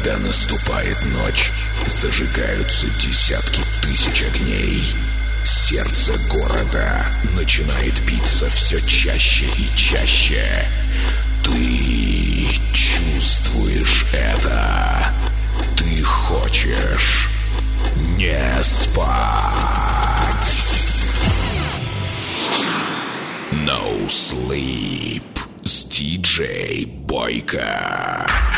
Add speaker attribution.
Speaker 1: Когда наступает ночь, зажигаются десятки тысяч огней. Сердце города начинает биться все чаще и чаще. Ты чувствуешь это. Ты хочешь не спать. No Sleep с DJ Бойко.